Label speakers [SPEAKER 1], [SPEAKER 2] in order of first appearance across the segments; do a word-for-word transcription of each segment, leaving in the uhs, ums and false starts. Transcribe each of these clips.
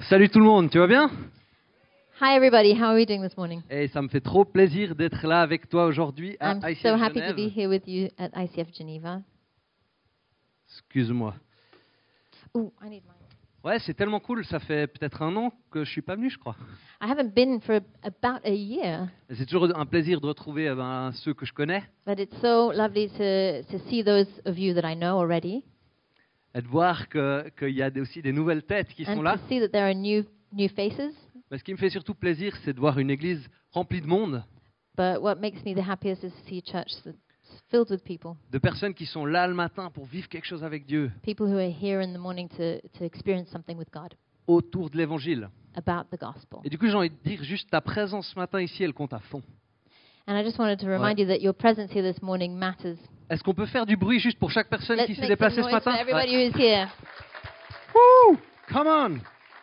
[SPEAKER 1] Salut tout le monde, tu vas bien?
[SPEAKER 2] Hi everybody, how are we doing this morning?
[SPEAKER 1] Et ça me fait trop plaisir d'être là avec toi aujourd'hui à
[SPEAKER 2] I'm
[SPEAKER 1] I C F
[SPEAKER 2] so happy to be
[SPEAKER 1] Genève.
[SPEAKER 2] here with you at I C F Geneva.
[SPEAKER 1] Excuse-moi.
[SPEAKER 2] Oh, I need mine.
[SPEAKER 1] Ouais, c'est tellement cool, ça fait peut-être un an que je suis pas venu, je crois.
[SPEAKER 2] I haven't been for about a year,
[SPEAKER 1] Et c'est toujours un plaisir de retrouver euh, ben, ceux que je connais
[SPEAKER 2] but it's so lovely to, to see those of you that I know already
[SPEAKER 1] et de voir que- qu'il y a des- aussi des nouvelles têtes qui sont
[SPEAKER 2] and
[SPEAKER 1] là.
[SPEAKER 2] to see that there are new new faces.
[SPEAKER 1] Mais ce qui me fait surtout plaisir, c'est de voir une église remplie de monde,
[SPEAKER 2] But what makes me the happiest is to see a church that's filled with people,
[SPEAKER 1] de personnes qui sont là le matin pour vivre quelque chose avec Dieu,
[SPEAKER 2] people who are here in the morning to, to experience something with God
[SPEAKER 1] autour de l'évangile.
[SPEAKER 2] about the gospel.
[SPEAKER 1] Et du coup, j'ai envie de dire, juste ta présence ce matin ici, elle compte à fond.
[SPEAKER 2] And I just wanted to remind you that your presence here this morning matters.
[SPEAKER 1] Est-ce qu'on peut faire du bruit juste pour chaque personne qui
[SPEAKER 2] Let's
[SPEAKER 1] s'est
[SPEAKER 2] make some
[SPEAKER 1] déplacée ce
[SPEAKER 2] noise for
[SPEAKER 1] matin?
[SPEAKER 2] everybody who's here.
[SPEAKER 1] Woo! Come on!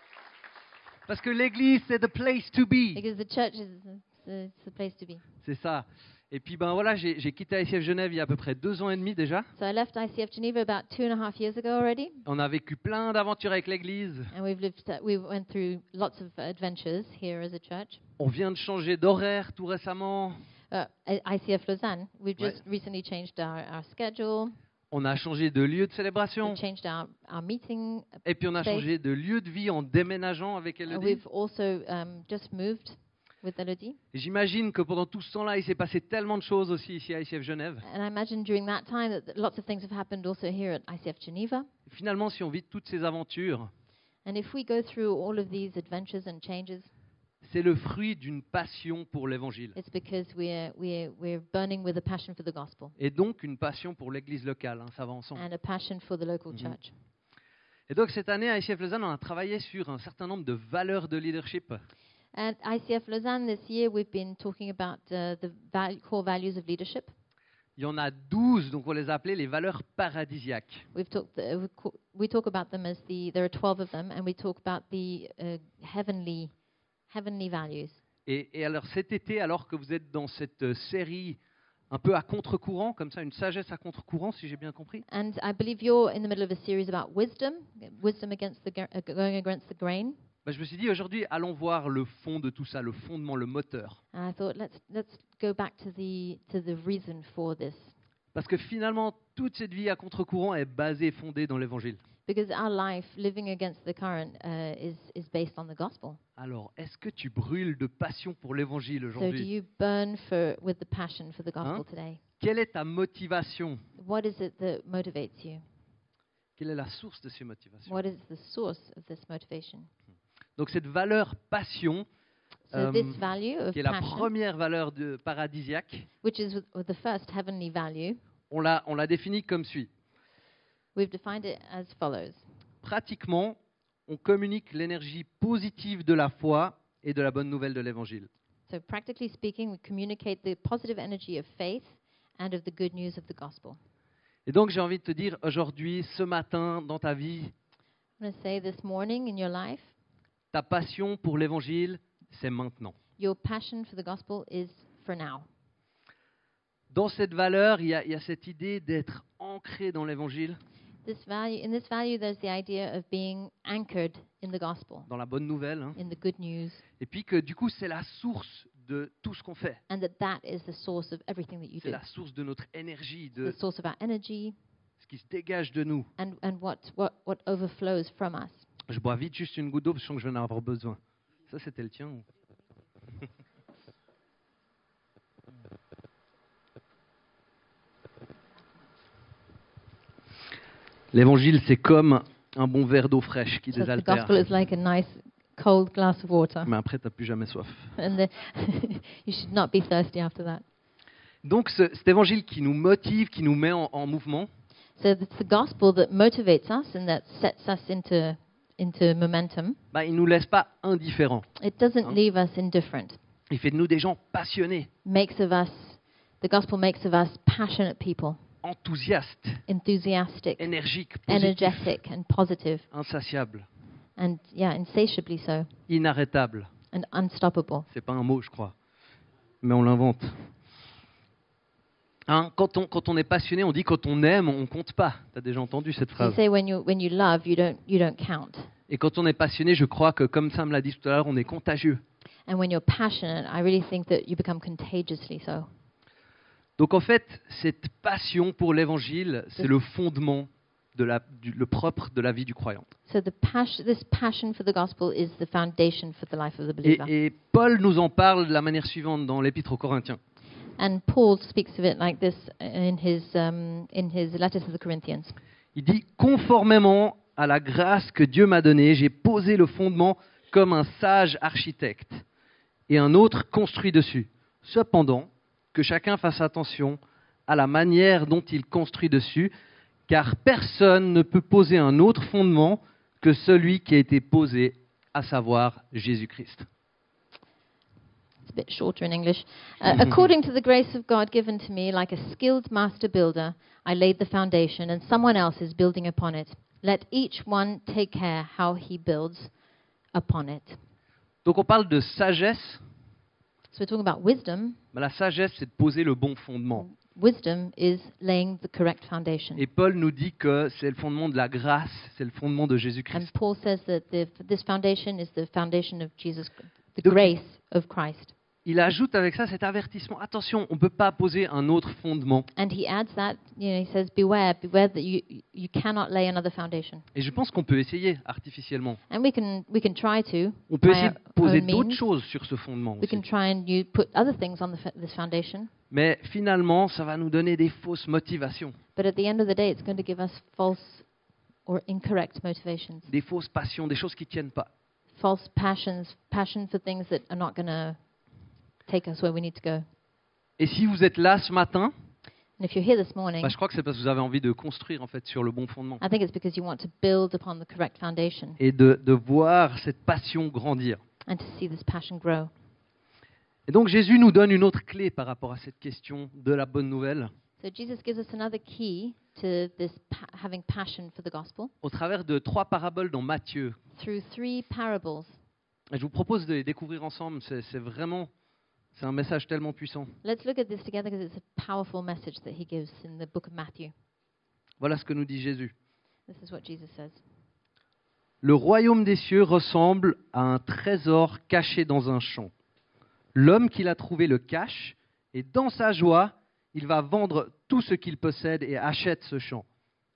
[SPEAKER 1] Parce que l'église, c'est the place to be.
[SPEAKER 2] Because the church is the, it's the place to be.
[SPEAKER 1] C'est ça. Et puis, ben voilà, j'ai j'ai quitté I C F Genève il y a à peu près deux ans et demi déjà.
[SPEAKER 2] So I left I C F Geneva about two and a half years ago already,
[SPEAKER 1] On a vécu plein d'aventures avec l'église.
[SPEAKER 2] and we've lived. Uh, we went through lots of adventures here as a church.
[SPEAKER 1] On vient de changer d'horaire tout récemment.
[SPEAKER 2] Uh, at I C F Lausanne, we've
[SPEAKER 1] Ouais.
[SPEAKER 2] just recently changed our, our schedule.
[SPEAKER 1] On a changé de lieu de
[SPEAKER 2] We've
[SPEAKER 1] célébration.
[SPEAKER 2] changed our, our meeting.
[SPEAKER 1] Et puis, on a
[SPEAKER 2] space.
[SPEAKER 1] changé de lieu de vie en déménageant avec
[SPEAKER 2] Uh,
[SPEAKER 1] Elodie.
[SPEAKER 2] we've also um, just moved with Elodie,
[SPEAKER 1] Et j'imagine que pendant tout ce temps-là, il s'est passé tellement de choses aussi ici à I C F Genève.
[SPEAKER 2] and I imagine during that time that lots of things have happened also here at I C F Geneva.
[SPEAKER 1] Et finalement, si on vit toutes ces aventures,
[SPEAKER 2] And if we go through all of these adventures and changes,
[SPEAKER 1] c'est le fruit d'une passion pour l'évangile.
[SPEAKER 2] it's because we're we're we're burning with a passion for the gospel
[SPEAKER 1] Et donc une passion pour l'église locale, hein, ça va ensemble.
[SPEAKER 2] and a passion for the local
[SPEAKER 1] Mhm.
[SPEAKER 2] church.
[SPEAKER 1] Et donc cette année à I C F Lausanne, on a travaillé sur un certain nombre de valeurs de leadership.
[SPEAKER 2] At I C F Lausanne this year, we've been talking about uh, the val- core values of leadership.
[SPEAKER 1] Il y en a douze, donc on les a appelées les valeurs paradisiaques.
[SPEAKER 2] We've talked. Uh, we, co- we talk about them as the. There are twelve of them, and we talk about the uh, heavenly, heavenly values.
[SPEAKER 1] Et, et alors cet été, alors que vous êtes dans cette euh, série un peu à contre-courant, comme ça, une sagesse à contre-courant, si j'ai bien compris,
[SPEAKER 2] And I believe you're in the middle of a series about wisdom, wisdom against the gra- uh, going against the grain.
[SPEAKER 1] bah, je me suis dit aujourd'hui, allons voir le fond de tout ça, le fondement, le moteur.
[SPEAKER 2] And I thought let's let's go back to the to the reason for this,
[SPEAKER 1] Parce que finalement, toute cette vie à contre-courant est basée, fondée dans l'évangile.
[SPEAKER 2] because our life living against the current uh, is is based on the gospel.
[SPEAKER 1] Alors, est-ce que tu brûles de passion pour l'évangile
[SPEAKER 2] So do
[SPEAKER 1] aujourd'hui?
[SPEAKER 2] you burn for with the passion for the gospel
[SPEAKER 1] Hein?
[SPEAKER 2] today?
[SPEAKER 1] Quelle est ta motivation?
[SPEAKER 2] What is it that motivates you?
[SPEAKER 1] Quelle est la source de ces motivations?
[SPEAKER 2] What is the source of this motivation?
[SPEAKER 1] Donc cette valeur passion,
[SPEAKER 2] So
[SPEAKER 1] Um,
[SPEAKER 2] this value of
[SPEAKER 1] qui est la
[SPEAKER 2] passion,
[SPEAKER 1] première valeur de paradisiaque,
[SPEAKER 2] which is with- with the first heavenly value,
[SPEAKER 1] on l'a, on l'a définie comme suit.
[SPEAKER 2] we've defined it as follows.
[SPEAKER 1] Pratiquement, on communique l'énergie positive de la foi et de la bonne nouvelle de l'évangile.
[SPEAKER 2] So practically speaking, we communicate the positive energy of faith and of the good news of the gospel.
[SPEAKER 1] Et donc j'ai envie de te dire aujourd'hui, ce matin, dans ta vie,
[SPEAKER 2] I'm going to say this morning in your life,
[SPEAKER 1] ta passion pour l'évangile, c'est maintenant.
[SPEAKER 2] your passion for the gospel is for now.
[SPEAKER 1] Dans cette valeur, il y a, il y a cette idée d'être ancré dans l'évangile,
[SPEAKER 2] This value, in this value, there's the idea of being anchored in the gospel,
[SPEAKER 1] dans la bonne nouvelle, hein.
[SPEAKER 2] in the good news,
[SPEAKER 1] Et puis que du coup, c'est la source de tout ce qu'on fait.
[SPEAKER 2] and that that is the source of everything that you
[SPEAKER 1] C'est
[SPEAKER 2] do.
[SPEAKER 1] la source de notre énergie,
[SPEAKER 2] The
[SPEAKER 1] de
[SPEAKER 2] source of our energy
[SPEAKER 1] ce qui se dégage de nous.
[SPEAKER 2] and, and what, what, what overflows from us.
[SPEAKER 1] Je bois vite juste une goutte d'eau parce que je sens que je vais en avoir besoin. Ça, c'était le tien ou- L'évangile, c'est comme un bon verre d'eau fraîche qui
[SPEAKER 2] So the
[SPEAKER 1] désaltère.
[SPEAKER 2] gospel is like a nice cold glass of water,
[SPEAKER 1] Mais après, tu n'as plus jamais soif.
[SPEAKER 2] and the, you should not be thirsty after that.
[SPEAKER 1] Donc, ce- cet évangile qui nous motive, qui nous met en, en mouvement,
[SPEAKER 2] So it's the gospel that motivates us and that sets us into into momentum.
[SPEAKER 1] bah, il ne nous laisse pas indifférents.
[SPEAKER 2] It doesn't
[SPEAKER 1] Hein?
[SPEAKER 2] leave us indifferent.
[SPEAKER 1] Il fait de nous des gens passionnés,
[SPEAKER 2] Makes of us, the gospel makes of us passionate people,
[SPEAKER 1] enthousiastes,
[SPEAKER 2] enthusiastic,
[SPEAKER 1] énergiques, positifs,
[SPEAKER 2] energetic, and positive,
[SPEAKER 1] insatiables,
[SPEAKER 2] and yeah, insatiably so,
[SPEAKER 1] inarrêtables.
[SPEAKER 2] and unstoppable.
[SPEAKER 1] C'est pas un mot, je crois, mais on l'invente. Hein, quand, on, quand on est passionné, on dit quand on aime, on compte pas. Tu as déjà entendu cette
[SPEAKER 2] You
[SPEAKER 1] phrase.
[SPEAKER 2] say when you when you love, you don't you don't count.
[SPEAKER 1] Et quand on est passionné, je crois que, comme Sam l'a dit tout à l'heure, on est contagieux.
[SPEAKER 2] And when you're passionate, I really think that you become contagiously so.
[SPEAKER 1] Donc en fait, cette passion pour l'évangile, c'est le fondement, de la, du, le propre de la vie du croyant.
[SPEAKER 2] So the passion, this passion for the gospel is the foundation for the life of the
[SPEAKER 1] Et,
[SPEAKER 2] believer.
[SPEAKER 1] et Paul nous en parle de la manière suivante dans l'Épître aux Corinthiens.
[SPEAKER 2] And Paul speaks of it like this in his um, in his letter to the Corinthians.
[SPEAKER 1] Il dit « Conformément à la grâce que Dieu m'a donnée, j'ai posé le fondement comme un sage architecte, et un autre construit dessus. Cependant, que chacun fasse attention à la manière dont il construit dessus, car personne ne peut poser un autre fondement que celui qui a été posé, à savoir Jésus-Christ. »
[SPEAKER 2] It's a bit shorter in English. Uh, According to the grace of God given to me, like a skilled master builder, I laid the foundation, and someone else is building upon it. Let each one take care how he builds upon it.
[SPEAKER 1] Donc on parle de sagesse.
[SPEAKER 2] So we're talking about wisdom.
[SPEAKER 1] Ben, la sagesse, c'est de poser le bon fondement.
[SPEAKER 2] Wisdom is laying the correct foundation.
[SPEAKER 1] Et Paul nous dit que c'est le fondement de la grâce, c'est le fondement de
[SPEAKER 2] And
[SPEAKER 1] Jésus-Christ.
[SPEAKER 2] Paul says that the, this foundation is the foundation of Jesus, the
[SPEAKER 1] Donc-
[SPEAKER 2] grace of Christ.
[SPEAKER 1] Il ajoute avec ça cet avertissement. Attention, on ne peut pas poser un autre fondement.
[SPEAKER 2] And he adds that, you know, he says, beware, beware that you, you cannot lay another foundation.
[SPEAKER 1] Et je pense qu'on peut essayer artificiellement.
[SPEAKER 2] And we can, we can try to.
[SPEAKER 1] On peut
[SPEAKER 2] by
[SPEAKER 1] essayer
[SPEAKER 2] our
[SPEAKER 1] de poser
[SPEAKER 2] own
[SPEAKER 1] d'autres
[SPEAKER 2] means.
[SPEAKER 1] choses sur ce fondement
[SPEAKER 2] We
[SPEAKER 1] aussi.
[SPEAKER 2] can try and you put other things on the, f- this foundation.
[SPEAKER 1] Mais finalement, ça va nous donner des fausses motivations,
[SPEAKER 2] But at the end of the day, it's going to give us false or incorrect motivations,
[SPEAKER 1] des fausses passions, des choses qui ne tiennent pas.
[SPEAKER 2] false passions, passion for things that are not going to take us where we need to go.
[SPEAKER 1] Et si vous êtes là ce matin,
[SPEAKER 2] And if you're here this morning,
[SPEAKER 1] bah, je crois que c'est parce que vous avez envie de construire en fait sur le bon fondement
[SPEAKER 2] I think it's because you want to build upon the correct foundation
[SPEAKER 1] et de, de voir cette passion grandir.
[SPEAKER 2] and to see this passion grow.
[SPEAKER 1] Et donc Jésus nous donne une autre clé par rapport à cette question de la bonne nouvelle
[SPEAKER 2] So Jesus gives us another key to this pa- having passion for the gospel
[SPEAKER 1] au travers de trois paraboles dans Matthieu.
[SPEAKER 2] through three parables.
[SPEAKER 1] Et je vous propose de les découvrir ensemble. C'est, c'est vraiment, c'est un message tellement puissant.
[SPEAKER 2] Let's look at this together because it's a powerful message that he gives in the book of Matthew.
[SPEAKER 1] Voilà ce que nous dit Jésus.
[SPEAKER 2] This is what Jesus says.
[SPEAKER 1] Le royaume des cieux ressemble à un trésor caché dans un champ. L'homme qui l'a trouvé le cache, et dans sa joie, il va vendre tout ce qu'il possède et achète ce champ.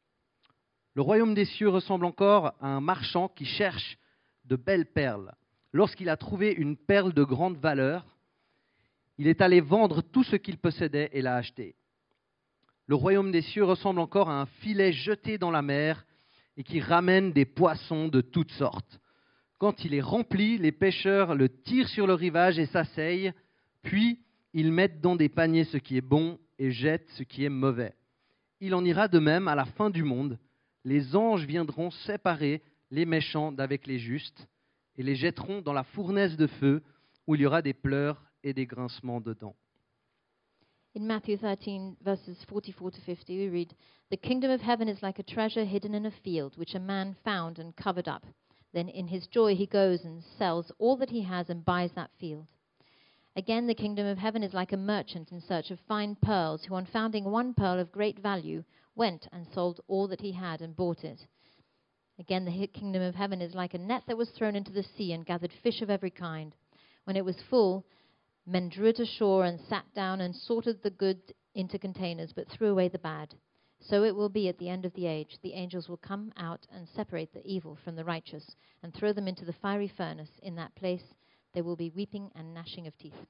[SPEAKER 1] Le royaume des cieux ressemble encore à un marchand qui cherche de belles perles. Lorsqu'il a trouvé une perle de grande valeur, il est allé vendre tout ce qu'il possédait et l'a acheté. Le royaume des cieux ressemble encore à un filet jeté dans la mer et qui ramène des poissons de toutes sortes. Quand il est rempli, les pêcheurs le tirent sur le rivage et s'asseyent, puis ils mettent dans des paniers ce qui est bon et jettent ce qui est mauvais. Il en ira de même à la fin du monde. Les anges viendront séparer les méchants d'avec les justes et les jetteront dans la fournaise de feu où il y aura des pleurs et des grincements de dents.
[SPEAKER 2] In Matthew thirteen, verses forty-four to fifty, we read, "The kingdom of heaven is like a treasure hidden in a field, which a man found and covered up. Then in his joy he goes and sells all that he has and buys that field. Again, the kingdom of heaven is like a merchant in search of fine pearls, who on founding one pearl of great value, went and sold all that he had and bought it. Again, the hi- kingdom of heaven is like a net that was thrown into the sea and gathered fish of every kind. When it was full, men drew it ashore and sat down and sorted the good into containers, but threw away the bad. So it will be at the end of the age. The angels will come out and separate the evil from the righteous and throw them into the fiery furnace. In that place there will be weeping and gnashing of teeth."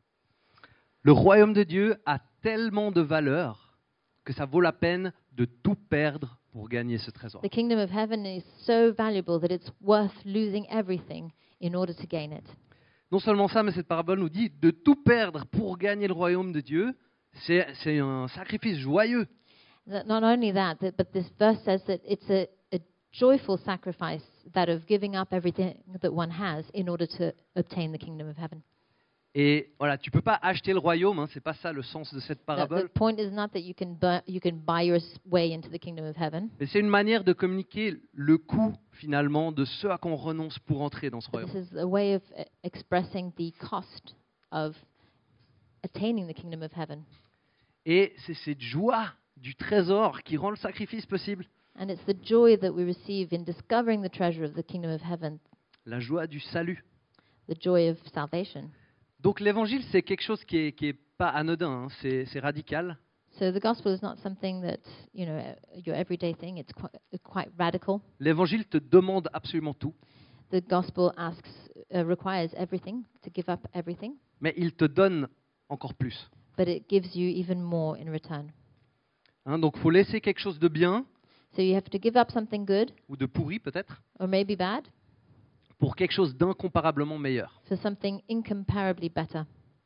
[SPEAKER 1] Le royaume de Dieu a tellement de valeur que ça vaut la peine de tout perdre pour gagner ce trésor.
[SPEAKER 2] The kingdom of heaven is so valuable that it's worth losing everything in order to gain it.
[SPEAKER 1] Non seulement ça, mais cette parabole nous dit de tout perdre pour gagner le royaume de Dieu, c'est, c'est un sacrifice joyeux.
[SPEAKER 2] That Not only that, that, but this verse says that it's a, a joyful sacrifice, that of giving up everything that one has in order to obtain the kingdom of heaven.
[SPEAKER 1] Et voilà, tu peux pas acheter le royaume, hein, c'est pas ça le sens de cette
[SPEAKER 2] The, the
[SPEAKER 1] parabole.
[SPEAKER 2] point is not that you can buy, you can buy your s- way into the kingdom of heaven.
[SPEAKER 1] Mais c'est une manière de communiquer le coût finalement de ce à quoi on renonce pour entrer dans ce
[SPEAKER 2] But
[SPEAKER 1] royaume.
[SPEAKER 2] this is a way of uh, expressing the cost of attaining the kingdom of heaven.
[SPEAKER 1] Et c'est cette joie du trésor qui rend le sacrifice possible.
[SPEAKER 2] And it's the joy that we receive in discovering the treasure of the kingdom of heaven,
[SPEAKER 1] la joie du salut.
[SPEAKER 2] the joy of salvation.
[SPEAKER 1] Donc l'évangile, c'est quelque chose qui est, qui est pas anodin, hein, c'est, c'est radical.
[SPEAKER 2] So the gospel is not something that, you know, your everyday thing. It's quite, quite radical.
[SPEAKER 1] L'évangile te demande absolument tout,
[SPEAKER 2] The gospel asks, uh, requires everything, to give up everything,
[SPEAKER 1] mais il te donne encore plus.
[SPEAKER 2] but it gives you even more in return.
[SPEAKER 1] Hein, donc il faut laisser quelque chose de bien,
[SPEAKER 2] So you have to give up something good,
[SPEAKER 1] ou de pourri peut-être,
[SPEAKER 2] or maybe bad,
[SPEAKER 1] pour quelque chose d'incomparablement meilleur.
[SPEAKER 2] for something incomparably better.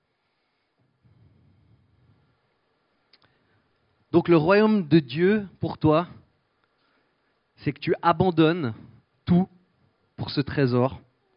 [SPEAKER 1] Donc le royaume de Dieu, pour toi, c'est que tu abandonnes tout pour ce trésor.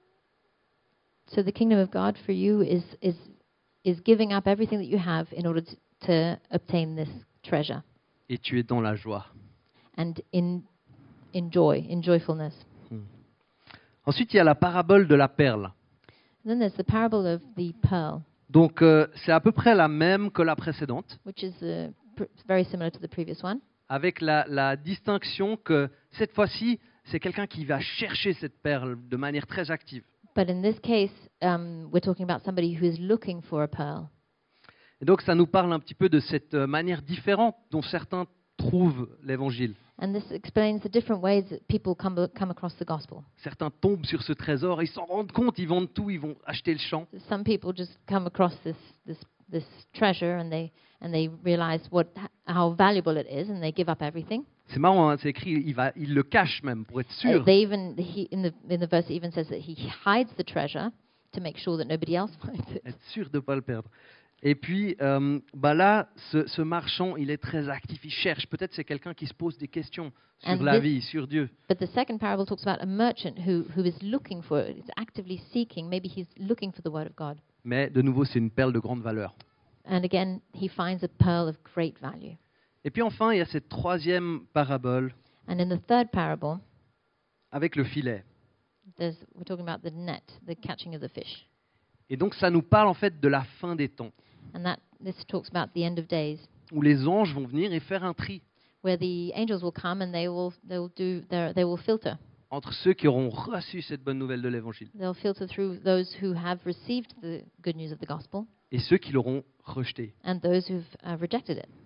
[SPEAKER 2] So the kingdom of God for you is is is giving up everything that you have in order to, to obtain this treasure,
[SPEAKER 1] Et tu es dans la joie.
[SPEAKER 2] and in in joy, in joyfulness.
[SPEAKER 1] Ensuite, il y a la parabole de la perle.
[SPEAKER 2] And then there's the parable of the pearl,
[SPEAKER 1] Donc euh, c'est à peu près la même que la précédente,
[SPEAKER 2] which is uh, pr- very similar to the previous one,
[SPEAKER 1] avec la, la distinction que cette fois-ci, c'est quelqu'un qui va chercher cette perle de manière très active.
[SPEAKER 2] but in this case, um, we're talking about somebody who is looking for a pearl.
[SPEAKER 1] Et donc ça nous parle un petit peu de cette euh, manière différente dont certains trouvent l'évangile.
[SPEAKER 2] And this explains the different ways that people come come across the gospel.
[SPEAKER 1] Certains tombent sur ce trésor, ils s'en rendent compte, ils vendent tout, ils vont acheter le champ.
[SPEAKER 2] Some people just come across this this this treasure and they and they realize what how valuable it is, and they give up everything.
[SPEAKER 1] C'est marrant, hein, c'est écrit, il, va, il le cache même pour être
[SPEAKER 2] Uh,
[SPEAKER 1] sûr.
[SPEAKER 2] they even he, in the in the verse it even says that he hides the treasure to make sure that nobody else finds it.
[SPEAKER 1] Être sûr de ne pas le perdre. Et puis euh, bah là, ce, ce marchand, il est très actif, il cherche. Peut-être c'est quelqu'un qui se pose des questions sur
[SPEAKER 2] And
[SPEAKER 1] la
[SPEAKER 2] this-
[SPEAKER 1] vie, sur Dieu.
[SPEAKER 2] But the second parable talks about a merchant who who is looking for it, is actively seeking. Maybe he's looking for the word of God.
[SPEAKER 1] Mais de nouveau, c'est une perle de grande valeur.
[SPEAKER 2] And again, he finds a pearl of great value.
[SPEAKER 1] Et puis enfin, il y a cette troisième parabole
[SPEAKER 2] And in the third parable,
[SPEAKER 1] avec le filet.
[SPEAKER 2] there's we're talking about the net, the catching of the fish.
[SPEAKER 1] Et donc ça nous parle en fait de la fin des temps,
[SPEAKER 2] And that this talks about the end of days,
[SPEAKER 1] où les anges vont venir et faire un tri
[SPEAKER 2] where the angels will come and they will they will do their, they will filter.
[SPEAKER 1] entre ceux qui auront reçu cette bonne nouvelle de l'évangile
[SPEAKER 2] They'll filter through those who have received the good news of the gospel
[SPEAKER 1] et ceux qui l'auront rejeté.
[SPEAKER 2] and those who've uh, rejected it.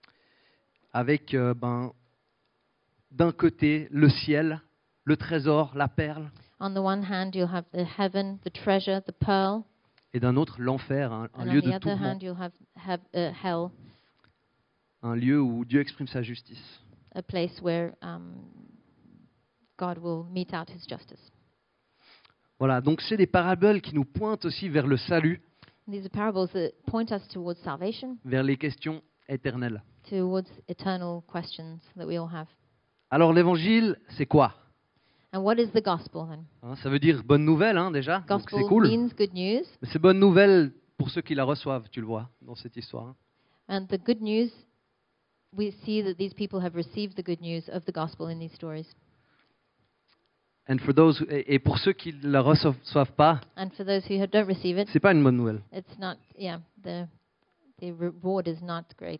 [SPEAKER 1] Avec euh, ben, d'un côté le ciel, le trésor, la perle,
[SPEAKER 2] On the one hand, you'll have the heaven, the treasure, the pearl,
[SPEAKER 1] et d'un autre l'enfer, un, un
[SPEAKER 2] and
[SPEAKER 1] lieu
[SPEAKER 2] on the
[SPEAKER 1] de
[SPEAKER 2] other
[SPEAKER 1] tourment,
[SPEAKER 2] hand, you'll have, have uh, hell,
[SPEAKER 1] un lieu où Dieu exprime sa justice.
[SPEAKER 2] a place where um, God will mete out His justice.
[SPEAKER 1] Voilà, donc c'est des paraboles qui nous pointent aussi vers le salut,
[SPEAKER 2] And these are parables that point us towards salvation,
[SPEAKER 1] vers les questions éternelles.
[SPEAKER 2] towards eternal questions that we all have.
[SPEAKER 1] Alors l'évangile, c'est quoi?
[SPEAKER 2] And what is the gospel then?
[SPEAKER 1] Hein, ça veut dire bonne nouvelle hein, déjà, donc
[SPEAKER 2] Gospel
[SPEAKER 1] c'est cool.
[SPEAKER 2] means good news,
[SPEAKER 1] Mais c'est bonne nouvelle pour ceux qui la reçoivent, tu le vois dans cette histoire. hein.
[SPEAKER 2] and the good news, we see that these people have received the good news of the gospel in these stories.
[SPEAKER 1] And for those, et et pour ceux qui ne la reçoivent pas,
[SPEAKER 2] And for those who don't receive it,
[SPEAKER 1] c'est pas une bonne nouvelle.
[SPEAKER 2] it's not, yeah, the the reward is not great.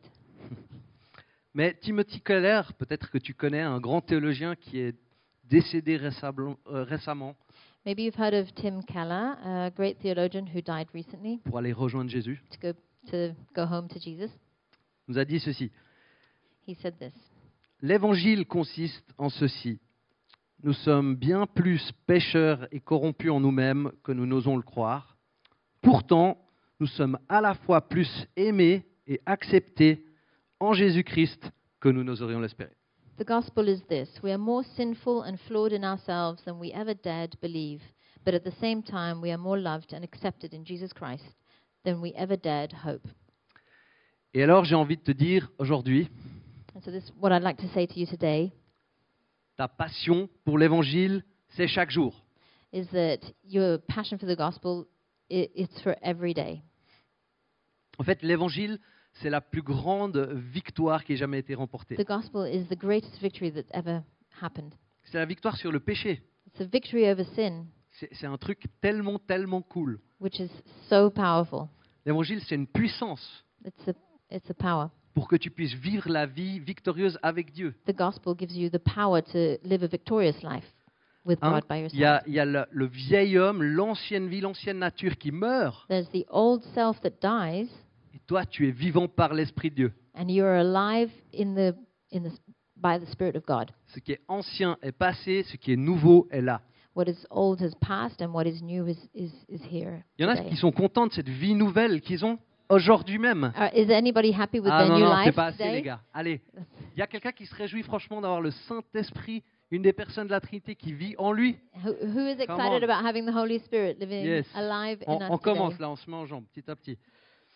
[SPEAKER 1] Mais Timothy Keller, peut-être que tu connais, un grand théologien qui est décédé récemment, euh, récemment
[SPEAKER 2] Maybe you've heard of Tim Keller, a great theologian who died recently
[SPEAKER 1] pour aller rejoindre Jésus,
[SPEAKER 2] to go to go home to Jesus.
[SPEAKER 1] nous a dit ceci.
[SPEAKER 2] He said this.
[SPEAKER 1] L'évangile consiste en ceci. Nous sommes bien plus pécheurs et corrompus en nous-mêmes que nous n'osons le croire. Pourtant, nous sommes à la fois plus aimés et acceptés en Jésus-Christ que nous n'oserions l'espérer.
[SPEAKER 2] The gospel is this: we are more sinful and flawed in ourselves than we ever dared believe, but at the same time we are more loved and accepted in Jesus Christ than we ever dared hope.
[SPEAKER 1] Et alors, j'ai envie de te dire aujourd'hui,
[SPEAKER 2] And so this is what I'd like to say to you today,
[SPEAKER 1] ta passion pour l'évangile, c'est chaque jour.
[SPEAKER 2] is that your passion for the gospel, i it's for every day.
[SPEAKER 1] En fait, l'évangile, c'est la plus grande victoire qui ait jamais été remportée.
[SPEAKER 2] The gospel is the greatest victory that ever happened.
[SPEAKER 1] C'est la victoire sur le péché.
[SPEAKER 2] It's a victory over sin,
[SPEAKER 1] C'est c'est un truc tellement, tellement cool.
[SPEAKER 2] which is so powerful.
[SPEAKER 1] L'évangile, c'est une puissance.
[SPEAKER 2] It's a it's a power.
[SPEAKER 1] pour que tu puisses vivre la vie victorieuse avec Dieu.
[SPEAKER 2] The gospel gives you the power to live a victorious life with
[SPEAKER 1] Hein?
[SPEAKER 2] God by your
[SPEAKER 1] Il y a,
[SPEAKER 2] side.
[SPEAKER 1] il y a le, le vieil homme, l'ancienne vie, l'ancienne nature qui meurt,
[SPEAKER 2] There's the old self that dies,
[SPEAKER 1] et toi, tu es vivant par l'Esprit de Dieu.
[SPEAKER 2] and you are alive in the in the by the Spirit of God.
[SPEAKER 1] Ce qui est ancien est passé, ce qui est nouveau est là.
[SPEAKER 2] What is old has passed, and what is new is is, is here.
[SPEAKER 1] Il y en a
[SPEAKER 2] today.
[SPEAKER 1] qui sont contents de cette vie nouvelle qu'ils ont aujourd'hui même.
[SPEAKER 2] Uh, is anybody happy with
[SPEAKER 1] Ah
[SPEAKER 2] their
[SPEAKER 1] non,
[SPEAKER 2] new
[SPEAKER 1] non, c'est
[SPEAKER 2] life
[SPEAKER 1] pas assez,
[SPEAKER 2] today?
[SPEAKER 1] les gars. Allez, il y a quelqu'un qui se réjouit franchement d'avoir le Saint-Esprit, une des personnes de la Trinité qui vit en lui.
[SPEAKER 2] Who, who is
[SPEAKER 1] Come
[SPEAKER 2] excited
[SPEAKER 1] on.
[SPEAKER 2] about having the Holy Spirit living
[SPEAKER 1] Yes.
[SPEAKER 2] alive
[SPEAKER 1] On,
[SPEAKER 2] in us
[SPEAKER 1] on commence
[SPEAKER 2] today?
[SPEAKER 1] là, on se met en jambes, petit à petit.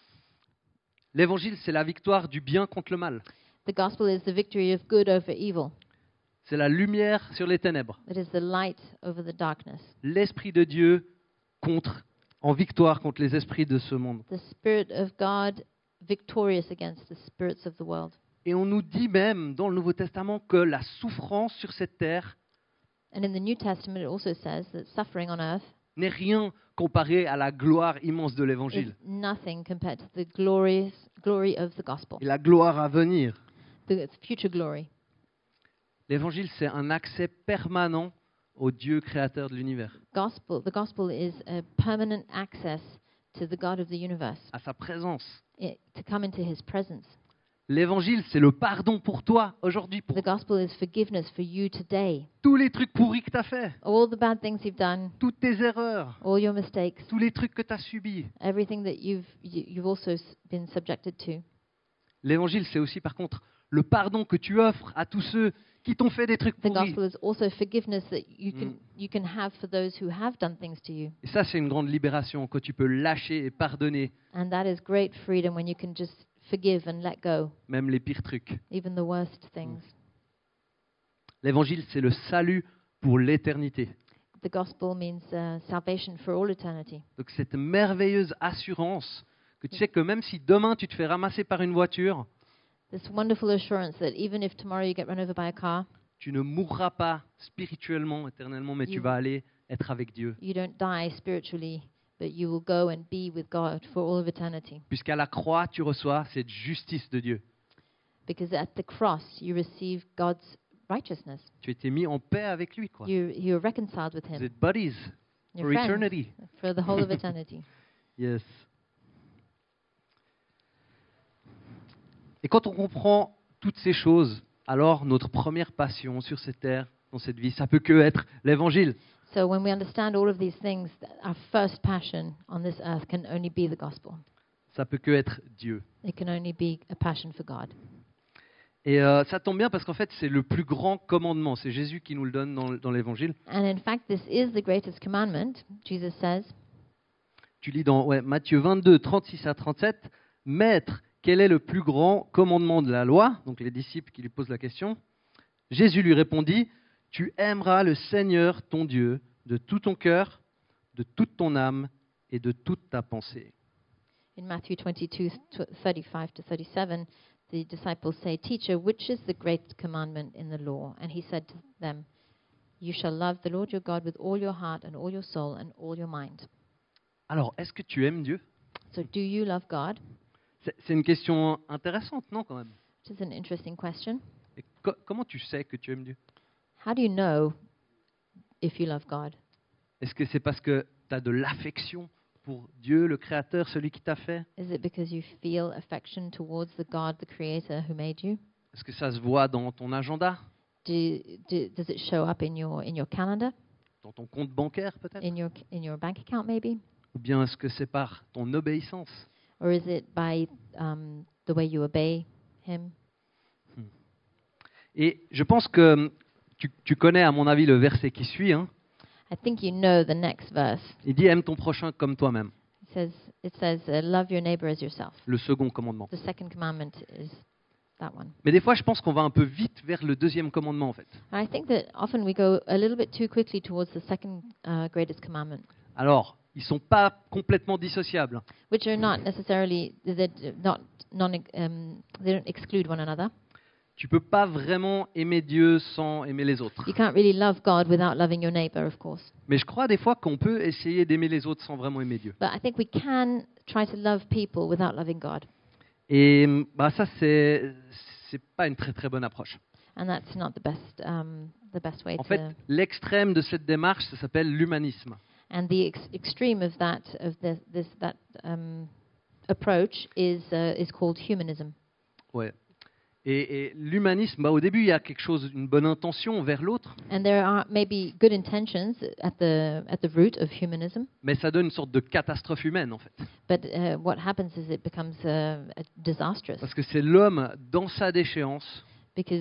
[SPEAKER 1] L'évangile, c'est la victoire du bien contre le mal.
[SPEAKER 2] The gospel is the victory of good over evil.
[SPEAKER 1] C'est la lumière sur les ténèbres.
[SPEAKER 2] It is the light over the darkness.
[SPEAKER 1] L'Esprit de Dieu contre, en victoire contre les esprits de ce monde.
[SPEAKER 2] The Spirit of God victorious against the spirits of the world.
[SPEAKER 1] Et on nous dit même dans le Nouveau Testament que la souffrance sur cette terre
[SPEAKER 2] And in the New Testament, it also says that suffering on earth
[SPEAKER 1] n'est rien comparé à la gloire immense de
[SPEAKER 2] is
[SPEAKER 1] l'Évangile
[SPEAKER 2] nothing compared to the glorious glory of the gospel,
[SPEAKER 1] et la gloire à venir.
[SPEAKER 2] the future glory.
[SPEAKER 1] L'Évangile, c'est un accès permanent au Dieu créateur de l'univers,
[SPEAKER 2] Gospel, the gospel is a permanent access to the God of the universe,
[SPEAKER 1] à sa présence.
[SPEAKER 2] it, to come into His presence.
[SPEAKER 1] L'Évangile, c'est le pardon pour toi aujourd'hui, pour
[SPEAKER 2] The gospel is forgiveness for you today.
[SPEAKER 1] tous les trucs pourris que tu as fait,
[SPEAKER 2] All the bad things you've done,
[SPEAKER 1] toutes tes erreurs,
[SPEAKER 2] all your mistakes,
[SPEAKER 1] tous les trucs que tu as subis.
[SPEAKER 2] everything that you've you, you've also s- been subjected to.
[SPEAKER 1] L'Évangile, c'est aussi par contre le pardon que tu offres à tous ceux qui t'ont fait des trucs
[SPEAKER 2] The
[SPEAKER 1] pourris.
[SPEAKER 2] gospel is also forgiveness that you can
[SPEAKER 1] Mm.
[SPEAKER 2] you can have for those who have done things to you.
[SPEAKER 1] Et ça, c'est une grande libération, quand tu peux lâcher et pardonner
[SPEAKER 2] And that is great freedom when you can just forgive and let go,
[SPEAKER 1] même les pires trucs.
[SPEAKER 2] even the worst things.
[SPEAKER 1] L'Évangile, c'est le salut pour l'éternité.
[SPEAKER 2] The gospel means uh, salvation for all eternity.
[SPEAKER 1] Donc cette merveilleuse assurance que tu sais que même si demain tu te fais ramasser par une voiture,
[SPEAKER 2] This wonderful assurance that even if tomorrow you get run over by a car,
[SPEAKER 1] tu ne mourras pas spirituellement, éternellement, mais tu
[SPEAKER 2] You-
[SPEAKER 1] vas aller être avec Dieu.
[SPEAKER 2] you don't die spiritually, but you will go and be with God for all of eternity.
[SPEAKER 1] Puisqu'à la croix, tu reçois cette justice de Dieu.
[SPEAKER 2] Because at the cross you receive God's righteousness.
[SPEAKER 1] Tu as été mis en paix avec lui, quoi.
[SPEAKER 2] You you're reconciled with
[SPEAKER 1] Vous
[SPEAKER 2] Him.
[SPEAKER 1] êtes buddies
[SPEAKER 2] You're
[SPEAKER 1] for
[SPEAKER 2] friends
[SPEAKER 1] eternity.
[SPEAKER 2] for the whole of eternity.
[SPEAKER 1] Yes. Et quand on comprend toutes ces choses, alors notre première passion sur cette terre, dans cette vie, ça peut que être l'Évangile.
[SPEAKER 2] So when we understand all of these things, th- our first passion on this earth can only be the gospel.
[SPEAKER 1] Ça peut que être Dieu.
[SPEAKER 2] It can only be a passion for God.
[SPEAKER 1] Et euh, ça tombe bien parce qu'en fait, c'est le plus grand commandement. C'est Jésus qui nous le donne dans, dans l'Évangile.
[SPEAKER 2] And in fact, this is the greatest commandment. Jesus says,
[SPEAKER 1] Tu lis dans ouais, Matthieu vingt-deux, trente-six à trente-sept, « Maître, quel est le plus grand commandement de la loi ?» Donc les disciples qui lui posent la question. Jésus lui répondit, « Tu aimeras le Seigneur ton Dieu de tout ton cœur, de toute ton âme et de toute ta pensée. »
[SPEAKER 2] in Matthew twenty-two, thirty-five to thirty-seven, the disciples say, Teacher, which is the great commandment in the law? And he said to them, You shall love the Lord your God with all your heart and all your soul and all your mind.
[SPEAKER 1] Alors, est-ce que tu aimes Dieu ?
[SPEAKER 2] So do you love God?
[SPEAKER 1] C'est c'est une question intéressante, non, quand même.
[SPEAKER 2] Which is an interesting question.
[SPEAKER 1] Et co- comment tu sais que tu aimes Dieu ?
[SPEAKER 2] How do you know if you love God?
[SPEAKER 1] Est-ce que c'est parce que tu as de l'affection pour Dieu, le Créateur, celui qui t'a fait ?
[SPEAKER 2] Is it because you feel affection towards the God, the Creator who made you?
[SPEAKER 1] Est-ce que ça se voit dans ton agenda,
[SPEAKER 2] Do, do, does it show up in your in your calendar,
[SPEAKER 1] dans ton compte bancaire peut-être ?
[SPEAKER 2] in your in your bank account maybe,
[SPEAKER 1] Ou bien est-ce que c'est par ton obéissance ?
[SPEAKER 2] or is it by um, the way you obey Him?
[SPEAKER 1] Et je pense que tu, tu connais, à mon avis, le verset qui suit. Hein.
[SPEAKER 2] I think you know the next verse.
[SPEAKER 1] Il dit « Aime ton prochain comme toi-même
[SPEAKER 2] It says it says uh, love your neighbor as yourself. ».
[SPEAKER 1] Le second commandement.
[SPEAKER 2] The second commandment is that one.
[SPEAKER 1] Mais des fois, je pense qu'on va un peu vite vers le deuxième commandement, en fait.
[SPEAKER 2] I think that often we go a little bit too quickly towards the second uh, greatest commandment,
[SPEAKER 1] Alors, ils ne sont pas complètement dissociables.
[SPEAKER 2] which are not necessarily they're not non um, they don't exclude one another.
[SPEAKER 1] Tu ne peux pas vraiment aimer Dieu sans aimer les autres.
[SPEAKER 2] You can't really love God without loving your neighbor, of course.
[SPEAKER 1] Mais je crois des fois qu'on peut essayer d'aimer les autres sans vraiment aimer Dieu.
[SPEAKER 2] But I think we can try to love people without loving God.
[SPEAKER 1] Et bah, ça, c'est c'est pas une très très bonne approche.
[SPEAKER 2] And that's not the best um, the best way
[SPEAKER 1] En
[SPEAKER 2] to.
[SPEAKER 1] fait, l'extrême de cette démarche, ça s'appelle l'humanisme.
[SPEAKER 2] And the ex- extreme of that of this, this that um, approach is uh, is called humanism.
[SPEAKER 1] Ouais. Et, et l'humanisme, bah, au début, il y a quelque chose, une bonne intention vers l'autre,
[SPEAKER 2] And there are maybe good intentions at the at the root of humanism,
[SPEAKER 1] mais ça donne une sorte de catastrophe humaine, en fait.
[SPEAKER 2] but uh, what happens is it becomes uh, disastrous
[SPEAKER 1] Parce que c'est l'homme, dans sa déchéance,
[SPEAKER 2] because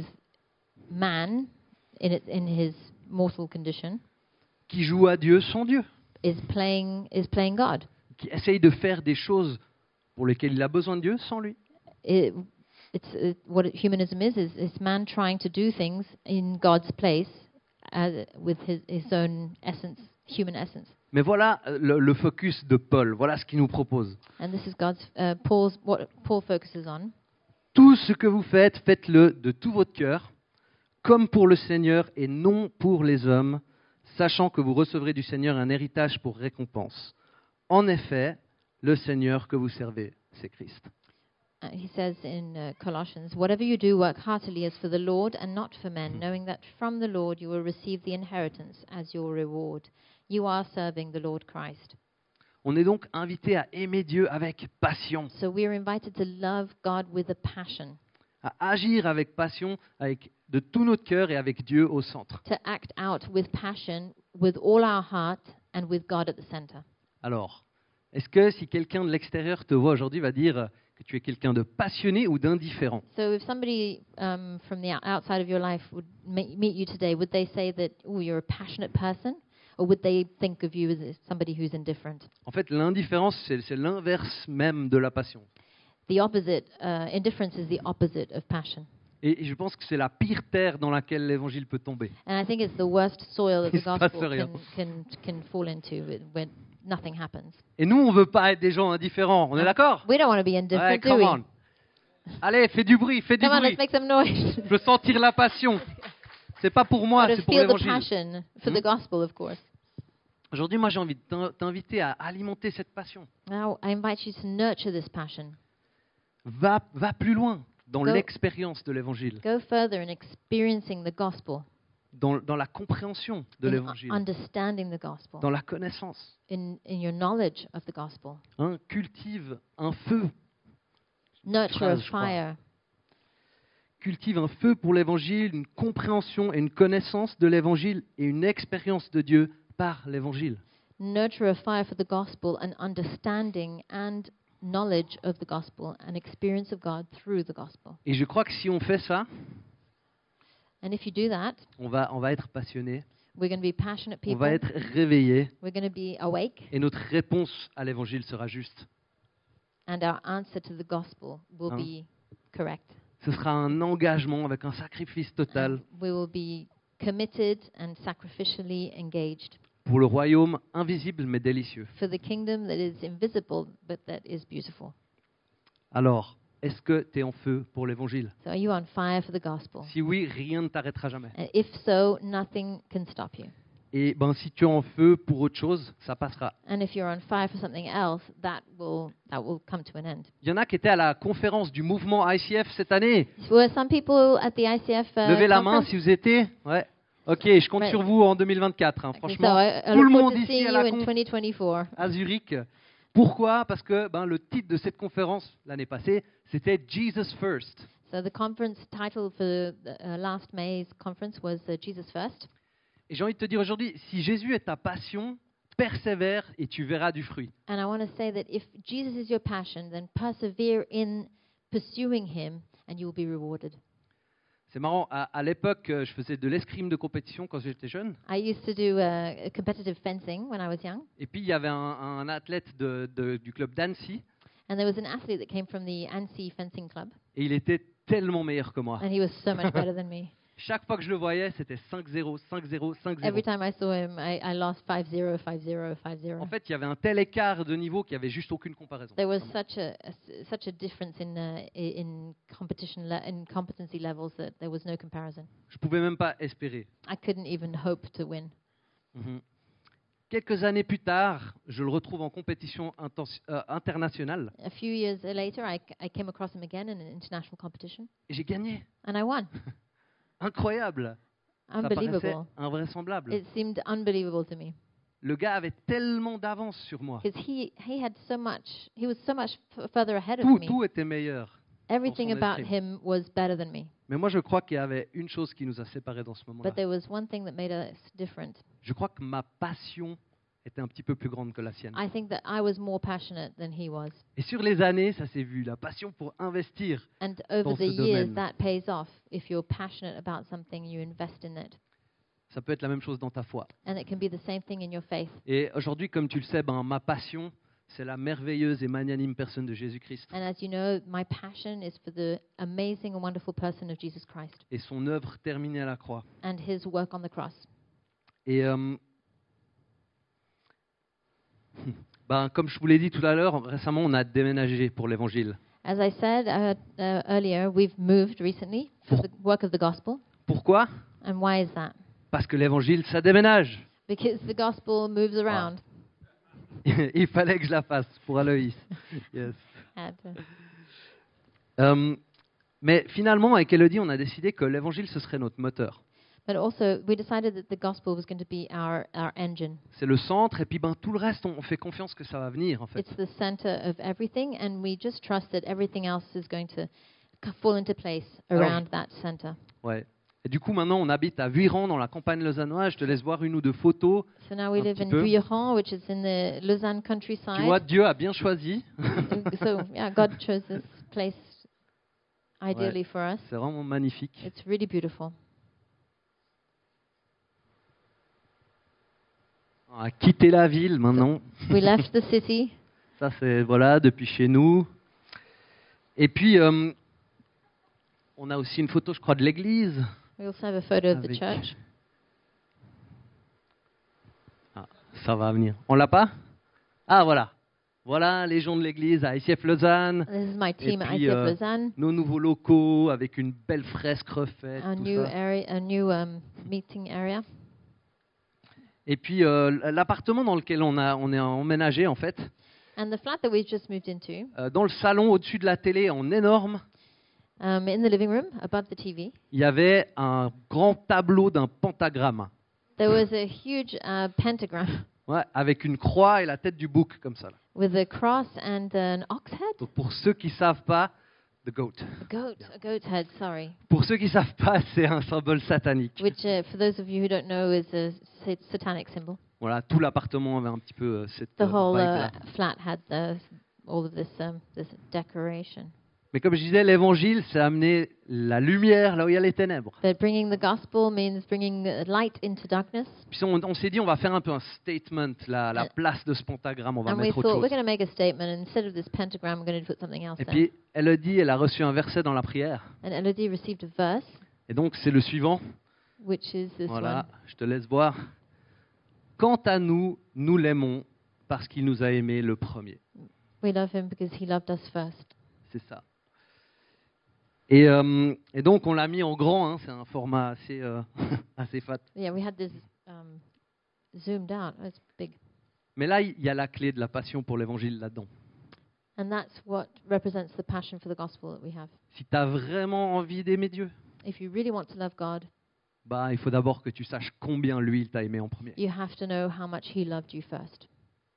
[SPEAKER 2] man, in it, in his mortal condition,
[SPEAKER 1] qui joue à Dieu sans Dieu,
[SPEAKER 2] is playing is playing God.
[SPEAKER 1] qui essaye de faire des choses pour lesquelles il a besoin de Dieu sans lui.
[SPEAKER 2] It, it's it, what it, humanism is is is man trying to do things in God's place uh, with his his own essence, human essence.
[SPEAKER 1] Mais voilà euh, le, le focus de Paul, voilà ce qu'il nous propose.
[SPEAKER 2] And this is God's uh, Paul's what Paul focuses on.
[SPEAKER 1] Tout ce que vous faites, faites-le de tout votre cœur, comme pour le Seigneur et non pour les hommes, sachant que vous recevrez du Seigneur un héritage pour récompense. En effet, le Seigneur que vous servez, c'est Christ.
[SPEAKER 2] Uh, he says in uh, Colossians, "Whatever you do, work heartily as for the Lord and not for men, knowing that from the Lord you will receive the inheritance as your reward. You are serving the Lord Christ."
[SPEAKER 1] On est donc invité à aimer Dieu avec passion,
[SPEAKER 2] So we are invited to love God with a passion,
[SPEAKER 1] à agir avec passion, avec de tout notre cœur et avec Dieu au centre.
[SPEAKER 2] to act out with passion, with all our heart, and with God at the center.
[SPEAKER 1] Alors, est-ce que si quelqu'un de l'extérieur te voit aujourd'hui, va dire que tu es quelqu'un de passionné ou d'indifférent?
[SPEAKER 2] So if somebody um, from the ou- outside of your life would ma- meet you today, would they say that, oh, you're a passionate person? Or would they think of you as somebody who's indifferent?
[SPEAKER 1] En fait, l'indifférence, c'est c'est l'inverse même de la passion.
[SPEAKER 2] The opposite, uh, indifference is the opposite of passion.
[SPEAKER 1] Et je pense que c'est la pire terre dans laquelle l'évangile peut tomber.
[SPEAKER 2] And I think it's the worst soil that
[SPEAKER 1] Il
[SPEAKER 2] the
[SPEAKER 1] se passe
[SPEAKER 2] gospel
[SPEAKER 1] rien.
[SPEAKER 2] can, can, can fall into when nothing happens.
[SPEAKER 1] Et nous, on veut pas être des gens indifférents. On est d'accord?
[SPEAKER 2] We don't want to be
[SPEAKER 1] Ouais,
[SPEAKER 2] indifferent, do
[SPEAKER 1] come
[SPEAKER 2] we?
[SPEAKER 1] on. Allez, fais du bruit, fais du
[SPEAKER 2] Come on,
[SPEAKER 1] bruit.
[SPEAKER 2] let's make some noise.
[SPEAKER 1] Je veux sentir la passion. C'est pas pour moi,
[SPEAKER 2] Or to
[SPEAKER 1] c'est pour
[SPEAKER 2] feel the
[SPEAKER 1] l'évangile.
[SPEAKER 2] passion for
[SPEAKER 1] Hmm?
[SPEAKER 2] the gospel, of course.
[SPEAKER 1] Aujourd'hui, moi, j'ai envie de t'in- t'inviter à alimenter cette passion.
[SPEAKER 2] Now, I invite you to nurture this passion.
[SPEAKER 1] Va, va plus loin dans
[SPEAKER 2] Go-
[SPEAKER 1] l'expérience de l'évangile,
[SPEAKER 2] Go further in experiencing the gospel,
[SPEAKER 1] dans, dans la compréhension de
[SPEAKER 2] in
[SPEAKER 1] l'évangile,
[SPEAKER 2] understanding the gospel,
[SPEAKER 1] dans la connaissance.
[SPEAKER 2] in, in your knowledge of the gospel.
[SPEAKER 1] Hein, cultive un feu,
[SPEAKER 2] Nurture a
[SPEAKER 1] phrase, je crois.
[SPEAKER 2] fire.
[SPEAKER 1] cultive un feu pour l'évangile, une compréhension et une connaissance de l'évangile et une expérience de Dieu par l'évangile.
[SPEAKER 2] Nurture a fire for the gospel, an understanding and knowledge of the gospel, an experience of God through the gospel.
[SPEAKER 1] Et je crois que si on fait ça,
[SPEAKER 2] And if you do that,
[SPEAKER 1] on va, on va être passionné,
[SPEAKER 2] we're going to be passionate
[SPEAKER 1] on
[SPEAKER 2] people.
[SPEAKER 1] va être réveillé
[SPEAKER 2] We're going to be awake,
[SPEAKER 1] et notre réponse à l'évangile sera juste.
[SPEAKER 2] and our answer to the gospel will
[SPEAKER 1] Hein?
[SPEAKER 2] be correct.
[SPEAKER 1] Ce sera un engagement avec un sacrifice total
[SPEAKER 2] And we will be committed and sacrificially engaged
[SPEAKER 1] pour le royaume invisible mais délicieux.
[SPEAKER 2] for the kingdom that is invisible but that is beautiful.
[SPEAKER 1] Alors, est-ce que tu es en feu pour l'évangile?
[SPEAKER 2] So are you on fire for the gospel?
[SPEAKER 1] Si oui, rien ne t'arrêtera jamais.
[SPEAKER 2] And if so, nothing can stop you.
[SPEAKER 1] Et ben, si tu es en feu pour autre chose, ça passera.
[SPEAKER 2] And if you're on fire for something else, that will that will come to an end.
[SPEAKER 1] Il y en a qui étaient à la conférence du mouvement I C F cette année.
[SPEAKER 2] Were some people at the I C F uh,
[SPEAKER 1] Levez la main
[SPEAKER 2] conference?
[SPEAKER 1] si vous étiez. Ouais. Ok, je compte
[SPEAKER 2] Ouais.
[SPEAKER 1] sur vous en deux mille vingt-quatre. hein.
[SPEAKER 2] Okay,
[SPEAKER 1] Franchement,
[SPEAKER 2] so I, I
[SPEAKER 1] tout le
[SPEAKER 2] look forward
[SPEAKER 1] monde
[SPEAKER 2] to
[SPEAKER 1] ici
[SPEAKER 2] seeing
[SPEAKER 1] à
[SPEAKER 2] you
[SPEAKER 1] la
[SPEAKER 2] in
[SPEAKER 1] conf
[SPEAKER 2] twenty twenty-four.
[SPEAKER 1] à Zurich. Pourquoi? Parce que ben, le titre de cette conférence l'année passée, c'était Jesus First.
[SPEAKER 2] So the conference title for the uh, last May's conference was uh, Jesus First.
[SPEAKER 1] Et j'ai envie de te dire aujourd'hui, si Jésus est ta passion, persévère et tu verras du fruit.
[SPEAKER 2] And I want to say that if Jesus is your passion, then persevere in pursuing him and you will be rewarded.
[SPEAKER 1] C'est marrant, à, à l'époque, euh, je faisais de l'escrime de compétition quand j'étais jeune.
[SPEAKER 2] I used to do uh, competitive fencing when I was young,
[SPEAKER 1] Et puis, il y avait un, un athlète de- de- du club d'Annecy,
[SPEAKER 2] and there was an athlete that came from the Annecy Fencing Club,
[SPEAKER 1] et il était tellement meilleur que moi.
[SPEAKER 2] and he was so much better than me.
[SPEAKER 1] Chaque fois que je le voyais, c'était cinq zéro, cinq zéro, cinq
[SPEAKER 2] Every
[SPEAKER 1] zéro.
[SPEAKER 2] time I saw him, I, I lost five zero, five zero, five zero.
[SPEAKER 1] En fait, il y avait un tel écart de niveau qu'il n'y avait juste aucune comparaison.
[SPEAKER 2] There was such a, a s- such a difference in uh, i- in competition le- in competency levels that there was no comparison.
[SPEAKER 1] Je pouvais même pas espérer.
[SPEAKER 2] I couldn't even hope to win.
[SPEAKER 1] Mhm. Quelques années plus tard, je le retrouve en compétition intensi- euh, internationale
[SPEAKER 2] A few years later, I, c- I came across him again in an international competition,
[SPEAKER 1] et j'ai gagné.
[SPEAKER 2] and I won.
[SPEAKER 1] Incroyable. Ça paraissait
[SPEAKER 2] Unbelievable.
[SPEAKER 1] invraisemblable.
[SPEAKER 2] It seemed unbelievable to me
[SPEAKER 1] Le gars avait tellement d'avance sur moi.
[SPEAKER 2] because he, he had so much, he was so much f- further ahead of
[SPEAKER 1] Tout,
[SPEAKER 2] me.
[SPEAKER 1] tout était meilleur.
[SPEAKER 2] Everything
[SPEAKER 1] son
[SPEAKER 2] about
[SPEAKER 1] escrime.
[SPEAKER 2] him was better than me.
[SPEAKER 1] Mais moi, je crois qu'il y avait une chose qui nous a séparés dans ce moment-là.
[SPEAKER 2] But there was one thing that made us different.
[SPEAKER 1] Je crois que ma passion était un petit peu plus grande que la sienne.
[SPEAKER 2] I think that I was more passionate than he was.
[SPEAKER 1] Et sur les années, ça s'est vu, la passion pour investir.
[SPEAKER 2] And over
[SPEAKER 1] Dans
[SPEAKER 2] the
[SPEAKER 1] ce
[SPEAKER 2] years,
[SPEAKER 1] domaine.
[SPEAKER 2] that pays off. If you're passionate about something, you invest in it.
[SPEAKER 1] Ça peut être la même chose dans ta foi.
[SPEAKER 2] And it can be the same thing in your faith.
[SPEAKER 1] Et aujourd'hui, comme tu le sais, ben, ma passion, c'est la merveilleuse et magnanime personne de Jésus-Christ
[SPEAKER 2] And as you know, my passion is for the amazing and wonderful person of Jesus Christ
[SPEAKER 1] et son œuvre terminée à la croix.
[SPEAKER 2] and his work on the cross.
[SPEAKER 1] Et euh, ben, comme je vous l'ai dit tout à l'heure, récemment, on a déménagé pour l'Évangile.
[SPEAKER 2] As I said uh, uh, earlier, we've moved recently for the work of the gospel.
[SPEAKER 1] Pourquoi?
[SPEAKER 2] And why is that?
[SPEAKER 1] Parce que l'Évangile, ça déménage.
[SPEAKER 2] Because the gospel moves around.
[SPEAKER 1] Il fallait que je la fasse pour Aloïs. Yes.
[SPEAKER 2] Had to-
[SPEAKER 1] Euh, mais finalement, avec Elodie, on a décidé que l'Évangile, ce serait notre moteur.
[SPEAKER 2] But also, we decided that the gospel was going to be our, our engine.
[SPEAKER 1] C'est le centre, et puis ben, tout le reste, on, on fait confiance que ça va venir, en fait.
[SPEAKER 2] It's the center of everything, and we just trust that everything else is going to c- fall into place
[SPEAKER 1] Alors,
[SPEAKER 2] around that center.
[SPEAKER 1] Ouais. Et du coup, maintenant, on habite à Vuillerans, dans la campagne lausannoise. Je te laisse voir une ou deux photos.
[SPEAKER 2] So now we
[SPEAKER 1] Un
[SPEAKER 2] live
[SPEAKER 1] petit
[SPEAKER 2] in
[SPEAKER 1] peu.
[SPEAKER 2] Vuillerans, which is in the Lausanne
[SPEAKER 1] Tu
[SPEAKER 2] countryside.
[SPEAKER 1] vois, Dieu a bien choisi.
[SPEAKER 2] And so yeah, God chose this place ideally for us.
[SPEAKER 1] C'est vraiment magnifique.
[SPEAKER 2] It's really beautiful.
[SPEAKER 1] On a quitté la ville maintenant.
[SPEAKER 2] We left the city.
[SPEAKER 1] Ça, c'est, voilà, depuis chez nous. Et puis, euh, on a aussi une photo, je crois, de l'église.
[SPEAKER 2] We also have a photo of the
[SPEAKER 1] Avec-
[SPEAKER 2] church.
[SPEAKER 1] Ah, ça va venir. On l'a pas? Ah, voilà. Voilà les gens de l'église à I C F Lausanne.
[SPEAKER 2] This is my team at
[SPEAKER 1] puis,
[SPEAKER 2] I C F
[SPEAKER 1] euh,
[SPEAKER 2] Lausanne.
[SPEAKER 1] Nos nouveaux locaux avec une belle fresque refaite.
[SPEAKER 2] A
[SPEAKER 1] tout
[SPEAKER 2] new
[SPEAKER 1] ça.
[SPEAKER 2] area, a new um, meeting area.
[SPEAKER 1] Et puis, euh, l'appartement dans lequel on, a, on est emménagé, en fait,
[SPEAKER 2] And the flat that we've just moved into,
[SPEAKER 1] euh, dans le salon au-dessus de la télé, en énorme,
[SPEAKER 2] um, in the living room above the T V,
[SPEAKER 1] il y avait un grand tableau d'un pentagramme.
[SPEAKER 2] there was a huge uh, pentagram
[SPEAKER 1] Ouais, avec une croix et la tête du bouc, comme ça. Là.
[SPEAKER 2] with a cross and an ox head.
[SPEAKER 1] Donc pour ceux qui savent pas, the goat.
[SPEAKER 2] A goat, a goat's head, sorry.
[SPEAKER 1] Pour ceux qui savent pas, c'est un symbole satanique.
[SPEAKER 2] Which, uh, for those of you who don't know, is a sa- satanic symbol.
[SPEAKER 1] Voilà, tout l'appartement avait un petit peu euh, cette
[SPEAKER 2] The
[SPEAKER 1] euh,
[SPEAKER 2] whole
[SPEAKER 1] vibe-là.
[SPEAKER 2] uh, flat had uh, all of this um, this decoration.
[SPEAKER 1] Mais comme je disais, l'évangile, c'est amener la lumière là où il y a les ténèbres.
[SPEAKER 2] But bringing the gospel means bringing uh, light into darkness.
[SPEAKER 1] Puis on, on s'est dit, on va faire un peu un statement, la, la
[SPEAKER 2] Euh,
[SPEAKER 1] place de ce pentagramme, on va
[SPEAKER 2] And we
[SPEAKER 1] mettre autre
[SPEAKER 2] thought we're
[SPEAKER 1] chose.
[SPEAKER 2] going to make a statement. And instead of this pentagram, we're going to put something else
[SPEAKER 1] Et
[SPEAKER 2] there.
[SPEAKER 1] puis, elle a dit, elle a reçu un verset dans la prière.
[SPEAKER 2] And Elodie received a verse,
[SPEAKER 1] Et donc, c'est le suivant.
[SPEAKER 2] which is this
[SPEAKER 1] Voilà,
[SPEAKER 2] one.
[SPEAKER 1] je te laisse voir. Quant à nous, nous l'aimons parce qu'il nous a aimés le premier.
[SPEAKER 2] We love him because he loved us first.
[SPEAKER 1] C'est ça. Et, euh, et donc, on l'a mis en grand. Hein, c'est un format assez, euh, assez fat.
[SPEAKER 2] Yeah, we had this um, zoomed out. Oh, it's big.
[SPEAKER 1] Mais là, il y a la clé de la passion pour l'évangile là-dedans.
[SPEAKER 2] And that's what represents the passion for the gospel that we have.
[SPEAKER 1] Si tu as vraiment envie d'aimer Dieu,
[SPEAKER 2] If you really want to love God,
[SPEAKER 1] bah, il faut d'abord que tu saches combien lui, il t'a aimé en premier.
[SPEAKER 2] you have to know how much he loved you first.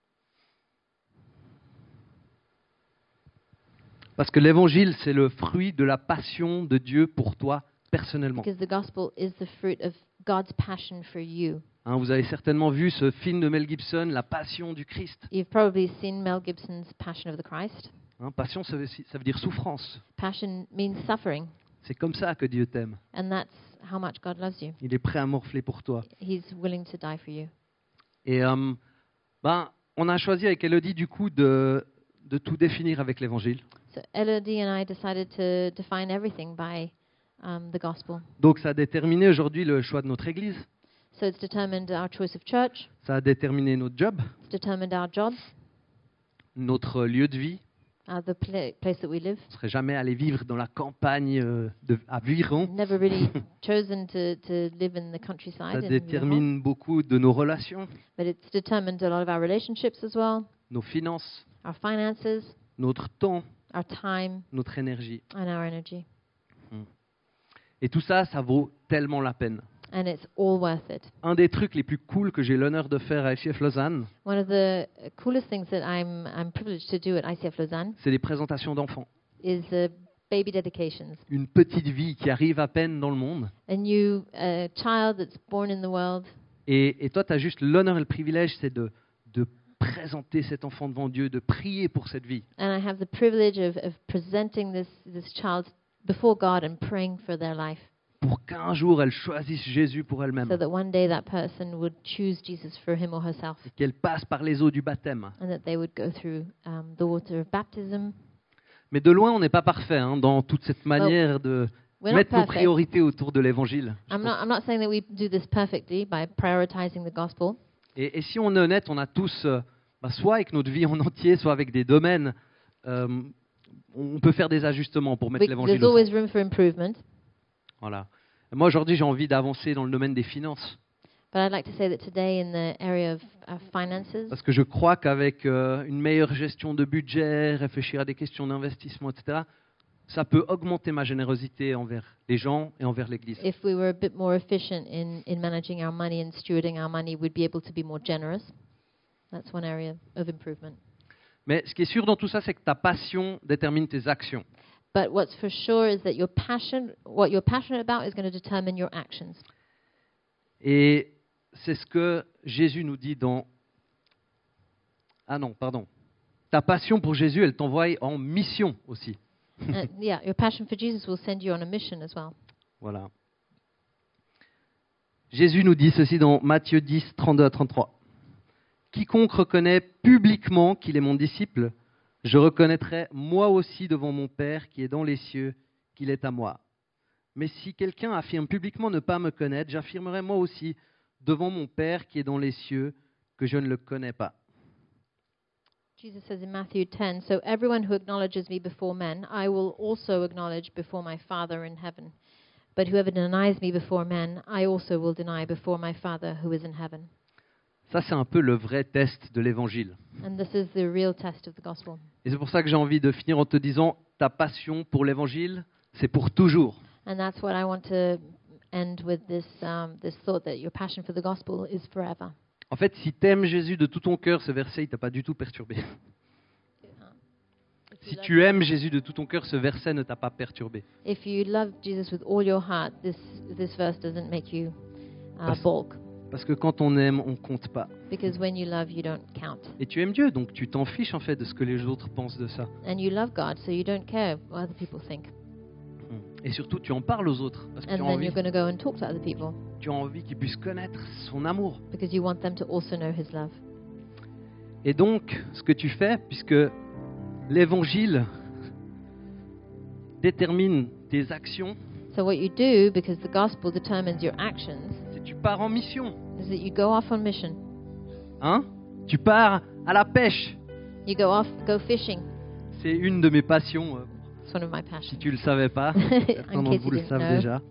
[SPEAKER 1] Parce que l'évangile, c'est le fruit de la passion de Dieu pour toi personnellement.
[SPEAKER 2] Because the gospel is the fruit of God's passion for you.
[SPEAKER 1] Hein, vous avez certainement vu ce film de Mel Gibson, La Passion du Christ.
[SPEAKER 2] You've probably seen Mel Gibson's Passion of the Christ.
[SPEAKER 1] Hein, passion, ça veut, ça veut dire souffrance.
[SPEAKER 2] Passion means suffering,
[SPEAKER 1] C'est comme ça que Dieu t'aime.
[SPEAKER 2] and that's how much God loves you.
[SPEAKER 1] Il est prêt à morfler pour toi.
[SPEAKER 2] He's willing to die for you.
[SPEAKER 1] Et euh, ben, on a choisi avec Elodie, du coup, de, de tout définir avec l'évangile.
[SPEAKER 2] So Elodie and I decided to define everything by um, the gospel.
[SPEAKER 1] Donc ça a déterminé aujourd'hui le choix de notre église.
[SPEAKER 2] So it's determined our choice of church,
[SPEAKER 1] Ça a déterminé notre job,
[SPEAKER 2] it's determined our jobs,
[SPEAKER 1] notre lieu de vie,
[SPEAKER 2] uh, the pla- place that we live.
[SPEAKER 1] On ne serait jamais allé vivre dans la campagne euh, de, à Viron.
[SPEAKER 2] Never really chosen to, to live in the countryside.
[SPEAKER 1] Ça
[SPEAKER 2] in Viron.
[SPEAKER 1] détermine beaucoup de nos relations,
[SPEAKER 2] But it's determined a lot of our relationships as well,
[SPEAKER 1] nos finances,
[SPEAKER 2] our finances,
[SPEAKER 1] notre temps,
[SPEAKER 2] our time,
[SPEAKER 1] notre énergie.
[SPEAKER 2] and our energy.
[SPEAKER 1] Et tout ça, ça vaut tellement la peine.
[SPEAKER 2] And it's all worth it.
[SPEAKER 1] Un des trucs les plus cool que j'ai l'honneur de faire à I C F Lausanne,
[SPEAKER 2] One of the coolest things that I'm, I'm privileged to do at I C F Lausanne
[SPEAKER 1] c'est les présentations d'enfants.
[SPEAKER 2] is uh, baby dedications.
[SPEAKER 1] Une petite vie qui arrive à peine dans le monde.
[SPEAKER 2] A new uh, child that's born in the world.
[SPEAKER 1] Et, et toi, tu as juste l'honneur et le privilège, c'est de, de présenter cet enfant devant Dieu, de prier pour cette vie.
[SPEAKER 2] And I have the privilege of, of presenting this, this child before God and praying for their life,
[SPEAKER 1] Pour qu'un jour, elle choisisse Jésus pour elle-même.
[SPEAKER 2] so that one day that person would choose Jesus for him or herself,
[SPEAKER 1] Et qu'elle passe par les eaux du baptême.
[SPEAKER 2] and that they would go through um, the water of baptism.
[SPEAKER 1] Mais de loin, on n'est pas parfait hein, dans toute cette manière de
[SPEAKER 2] We're not
[SPEAKER 1] mettre nos
[SPEAKER 2] perfect.
[SPEAKER 1] priorités autour de l'évangile. je
[SPEAKER 2] I'm
[SPEAKER 1] pense.
[SPEAKER 2] not, I'm not saying that we do this perfectly by prioritizing the gospel.
[SPEAKER 1] Et, et si on est honnête, on a tous, euh, bah, soit avec notre vie en entier, soit avec des domaines, euh, on peut faire des ajustements pour mettre
[SPEAKER 2] We,
[SPEAKER 1] l'évangile
[SPEAKER 2] there's
[SPEAKER 1] au
[SPEAKER 2] always
[SPEAKER 1] centre.
[SPEAKER 2] room for improvement.
[SPEAKER 1] Voilà. Moi, aujourd'hui, j'ai envie d'avancer dans le domaine des finances.
[SPEAKER 2] But I'd like to say that today, in the area of uh, finances,
[SPEAKER 1] Parce que je crois qu'avec euh, une meilleure gestion de budget, réfléchir à des questions d'investissement, et cetera, ça peut augmenter ma générosité envers les gens et envers l'Église.
[SPEAKER 2] if we were a bit more efficient in, in managing our money and stewarding our money, we'd be able to be more generous. That's one area of improvement.
[SPEAKER 1] Mais ce qui est sûr dans tout ça, c'est que ta passion détermine tes actions.
[SPEAKER 2] But what's for sure is that your passion, what you're passionate about, is going to determine your actions.
[SPEAKER 1] Et c'est ce que Jésus nous dit dans... Ah non, pardon. Ta passion pour Jésus, elle t'envoie en mission aussi.
[SPEAKER 2] uh, yeah, your passion for Jesus will send you on a mission as well.
[SPEAKER 1] Voilà. Jésus nous dit ceci dans Matthieu dix, trente-deux à trente-trois. Quiconque reconnaît publiquement qu'il est mon disciple, je reconnaîtrai moi aussi devant mon Père qui est dans les cieux qu'il est à moi. Mais si quelqu'un affirme publiquement ne pas me connaître, j'affirmerai moi aussi devant mon Père qui est dans les cieux que je ne le connais pas.
[SPEAKER 2] Jesus says in Matthew ten, "So everyone who acknowledges me before men, I will also acknowledge before my Father in heaven. But whoever denies me before men, I also will deny before my Father who is in heaven."
[SPEAKER 1] Ça, c'est un peu le vrai test de l'Évangile.
[SPEAKER 2] And this is the real test of the gospel.
[SPEAKER 1] Et c'est pour ça que j'ai envie de finir en te disant, ta passion pour l'Évangile, c'est pour toujours.
[SPEAKER 2] And that's what I want to end with this um, this thought that your passion for the gospel is forever.
[SPEAKER 1] En fait, si tu aimes Jésus de tout ton cœur, ce verset, il t'a pas du tout perturbé. Si tu aimes Jésus de tout ton cœur, ce verset ne t'a pas perturbé.
[SPEAKER 2] If you love Jesus with all your heart, this this verse doesn't make you uh,
[SPEAKER 1] Parce-
[SPEAKER 2] balk,
[SPEAKER 1] Parce que quand on aime, on compte pas.
[SPEAKER 2] because when you love, you don't count.
[SPEAKER 1] Et tu aimes Dieu, donc tu t'en fiches en fait de ce que les autres pensent de ça.
[SPEAKER 2] And you love God, so you don't care what other people think.
[SPEAKER 1] Et surtout, tu en parles aux autres. Parce que
[SPEAKER 2] And
[SPEAKER 1] tu as
[SPEAKER 2] then
[SPEAKER 1] envie,
[SPEAKER 2] you're going to go and talk to other people,
[SPEAKER 1] tu as envie qu'ils puissent connaître son amour.
[SPEAKER 2] because you want them to also know His love.
[SPEAKER 1] Et donc, ce que tu fais, puisque l'Évangile détermine tes actions,
[SPEAKER 2] So what you do, because the gospel determines your actions,
[SPEAKER 1] c'est que tu pars en mission.
[SPEAKER 2] is that you go off on mission.
[SPEAKER 1] Hein? Tu pars à la pêche.
[SPEAKER 2] You go off, go fishing.
[SPEAKER 1] C'est une de mes passions, euh,
[SPEAKER 2] It's one of my
[SPEAKER 1] si
[SPEAKER 2] passions.
[SPEAKER 1] tu le savais pas.
[SPEAKER 2] In
[SPEAKER 1] Certains d'entre
[SPEAKER 2] case
[SPEAKER 1] vous
[SPEAKER 2] you
[SPEAKER 1] le
[SPEAKER 2] didn't
[SPEAKER 1] savent
[SPEAKER 2] know.
[SPEAKER 1] déjà.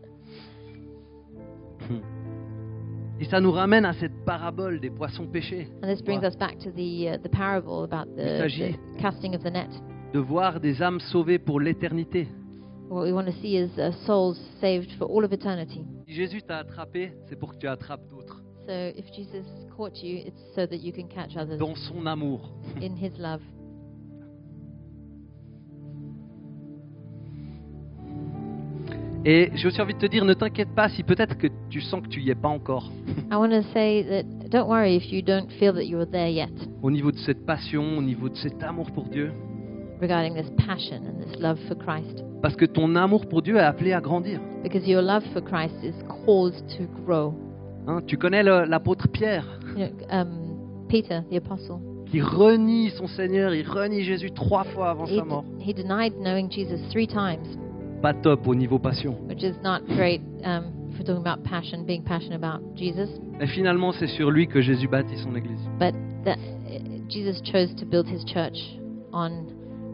[SPEAKER 1] Et ça nous ramène à cette parabole des poissons pêchés.
[SPEAKER 2] And this brings us back to the uh, the parable about
[SPEAKER 1] Il
[SPEAKER 2] the,
[SPEAKER 1] s'agit-
[SPEAKER 2] the casting of the net.
[SPEAKER 1] De voir des âmes sauvées pour l'éternité.
[SPEAKER 2] What we want to see is uh, souls saved for all of eternity.
[SPEAKER 1] Si Jésus t'a attrapé, c'est pour que tu attrapes d'autres.
[SPEAKER 2] So if Jesus caught you, it's so that you can catch others
[SPEAKER 1] Dans son amour.
[SPEAKER 2] in His love.
[SPEAKER 1] Et j'ai aussi envie de te dire, ne t'inquiète pas si peut-être que tu sens que tu y es pas encore.
[SPEAKER 2] I want to say that don't worry if you don't feel that you're there yet
[SPEAKER 1] Au niveau de cette passion, au niveau de cet amour pour Dieu.
[SPEAKER 2] regarding this passion and this love for Christ.
[SPEAKER 1] Parce que ton amour pour Dieu est appelé à grandir.
[SPEAKER 2] Because your love for Christ is called to grow.
[SPEAKER 1] Hein, tu connais le- l'apôtre Pierre,
[SPEAKER 2] You know, um, Peter, the apostle,
[SPEAKER 1] qui renie son Seigneur, il renie Jésus trois fois avant
[SPEAKER 2] he,
[SPEAKER 1] sa mort.
[SPEAKER 2] he denied knowing Jesus three times,
[SPEAKER 1] Pas top au niveau passion.
[SPEAKER 2] which is not great um, if we're talking about passion, being passionate about Jesus.
[SPEAKER 1] Et finalement, c'est sur lui que Jésus bâtit son église.
[SPEAKER 2] But that, uh, Jesus chose to build His church on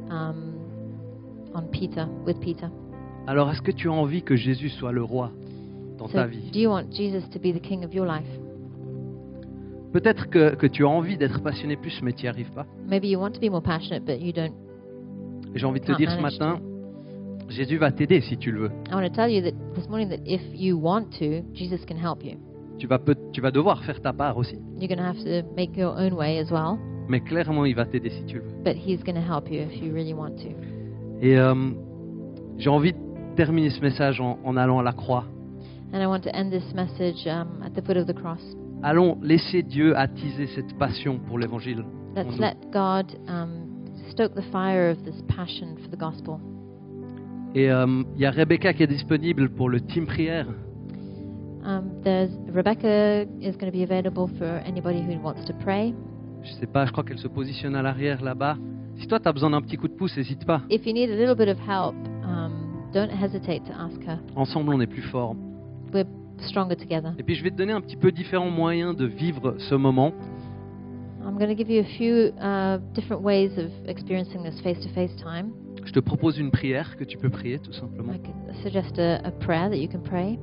[SPEAKER 2] um, on Peter, with Peter.
[SPEAKER 1] Alors, est-ce que tu as envie que Jésus soit le roi dans ta
[SPEAKER 2] So,
[SPEAKER 1] vie?
[SPEAKER 2] do you want Jesus to be the king of your life?
[SPEAKER 1] Peut-être que, que tu as envie d'être passionné plus, mais tu n'y arrives pas.
[SPEAKER 2] Maybe you want to be more passionate, but you don't.
[SPEAKER 1] Et j'ai envie de te
[SPEAKER 2] Can't
[SPEAKER 1] dire ce
[SPEAKER 2] manage
[SPEAKER 1] matin, Jésus va t'aider si tu le veux.
[SPEAKER 2] I want to tell you that this morning that if you want to, Jesus can help you.
[SPEAKER 1] Tu vas, peut- tu vas devoir faire ta part aussi.
[SPEAKER 2] You're going to have to make your own way as well,
[SPEAKER 1] Mais clairement, il va t'aider si tu le veux.
[SPEAKER 2] but He's going to help you if you really want to.
[SPEAKER 1] Et euh, j'ai envie de terminer ce message en, en allant à la croix.
[SPEAKER 2] And I want to end this message um, at the foot of the cross.
[SPEAKER 1] Allons laisser Dieu attiser cette passion pour l'évangile. en
[SPEAKER 2] Let's
[SPEAKER 1] nous.
[SPEAKER 2] let God um, stoke the fire of this passion for the gospel.
[SPEAKER 1] Et euh, il y a Rebecca qui est disponible pour le team prière.
[SPEAKER 2] Um, there's Rebecca is going to be available for anybody who wants to pray.
[SPEAKER 1] Je sais pas, je crois qu'elle se positionne à l'arrière là-bas. Si toi tu as besoin d'un petit coup de pouce, n'hésite pas.
[SPEAKER 2] If you need a little bit of help, um, don't hesitate to ask her.
[SPEAKER 1] Ensemble, on est plus fort.
[SPEAKER 2] We're stronger together.
[SPEAKER 1] Et puis je vais te donner un petit peu différents moyens de vivre ce moment.
[SPEAKER 2] I'm going to give you a few uh, different ways of experiencing this face-to-face time.
[SPEAKER 1] Je te propose une prière que tu peux prier tout simplement.
[SPEAKER 2] I could suggest a, a prayer that you can pray,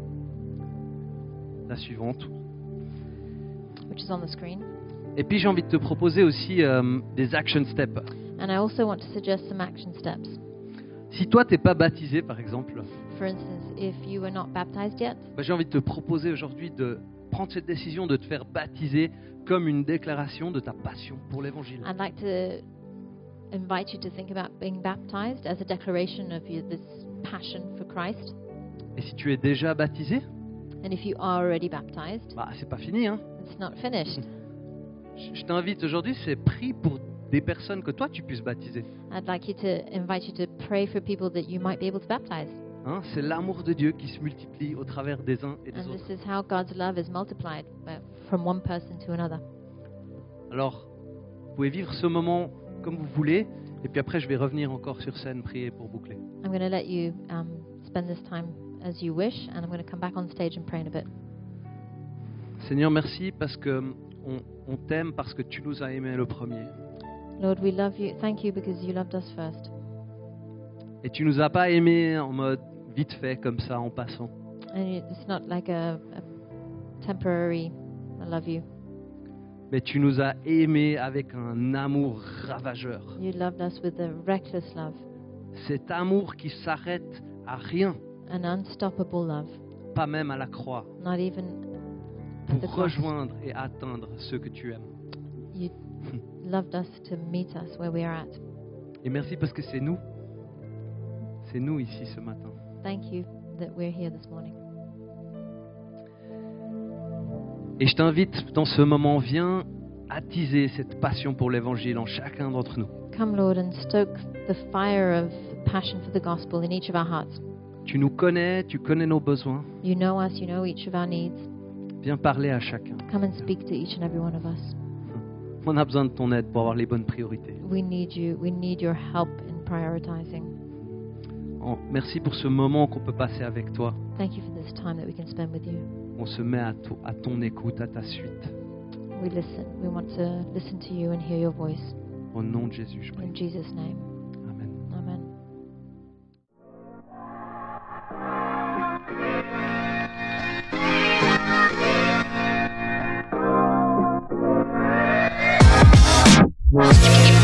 [SPEAKER 1] La suivante.
[SPEAKER 2] which is on the screen.
[SPEAKER 1] Et puis j'ai envie de te proposer aussi euh, des action steps.
[SPEAKER 2] And I also want to suggest some action steps.
[SPEAKER 1] Si toi t'es pas baptisé par exemple,
[SPEAKER 2] For instance, if you were not baptized yet,
[SPEAKER 1] bah, j'ai envie de te proposer aujourd'hui de prendre cette décision de te faire baptiser comme une déclaration de ta passion pour l'évangile.
[SPEAKER 2] I'd like to invite you to think about being baptized as a declaration of your, this passion for Christ.
[SPEAKER 1] Et si tu es déjà baptisé,
[SPEAKER 2] And if you are already baptized,
[SPEAKER 1] bah c'est pas fini hein.
[SPEAKER 2] it's not finished.
[SPEAKER 1] Je je t'invite aujourd'hui, c'est prie pour des personnes que toi tu puisses baptiser.
[SPEAKER 2] I'd like you to invite you to pray for people that you might be able to baptize.
[SPEAKER 1] Hein, c'est l'amour de Dieu qui se multiplie au travers des uns et des
[SPEAKER 2] And
[SPEAKER 1] autres.
[SPEAKER 2] this is how God's love is multiplied uh, from one person to another.
[SPEAKER 1] Alors, vous pouvez vivre ce moment comme vous voulez, et puis après je vais revenir encore sur scène prier pour boucler.
[SPEAKER 2] I'm going to let you um, spend this time as you wish, and I'm going to come back on stage and pray in a bit.
[SPEAKER 1] Seigneur, merci parce que on, on t'aime parce que tu nous as aimés le premier.
[SPEAKER 2] Lord, we love you. Thank you because you loved us first.
[SPEAKER 1] Et tu nous as pas aimés en mode vite fait comme ça en passant.
[SPEAKER 2] And you- it's not like a, a temporary, I love you.
[SPEAKER 1] Mais tu nous as aimés avec un amour ravageur.
[SPEAKER 2] You loved us with a reckless love,
[SPEAKER 1] Cet amour qui s'arrête à rien,
[SPEAKER 2] an unstoppable love,
[SPEAKER 1] pas même à la croix,
[SPEAKER 2] not even at the
[SPEAKER 1] pour
[SPEAKER 2] cross.
[SPEAKER 1] rejoindre et atteindre ceux que tu aimes.
[SPEAKER 2] You loved us to meet us where we are at.
[SPEAKER 1] Et merci parce que c'est nous. C'est nous ici ce matin.
[SPEAKER 2] Thank you that we're here this morning.
[SPEAKER 1] Et je t'invite dans ce moment, viens attiser cette passion pour l'évangile en chacun d'entre nous.
[SPEAKER 2] Come, Lord, and stoke the fire of passion for the gospel in each of our hearts.
[SPEAKER 1] Tu nous connais, tu connais nos besoins.
[SPEAKER 2] You know us, you know each of our needs.
[SPEAKER 1] Viens parler à chacun.
[SPEAKER 2] Come and speak to each and every one of us.
[SPEAKER 1] On a besoin de ton aide pour avoir les bonnes priorités.
[SPEAKER 2] We need you. We need your help in prioritizing.
[SPEAKER 1] Oh, merci pour ce moment qu'on peut passer avec toi.
[SPEAKER 2] Thank you for this time that we can spend with you.
[SPEAKER 1] On se met à, to- à ton écoute, à ta suite.
[SPEAKER 2] We listen. We want to listen to you and hear your voice.
[SPEAKER 1] Au nom de Jésus, je prie.
[SPEAKER 2] In Jesus' name.
[SPEAKER 1] Amen.
[SPEAKER 2] Amen.
[SPEAKER 3] Thank you.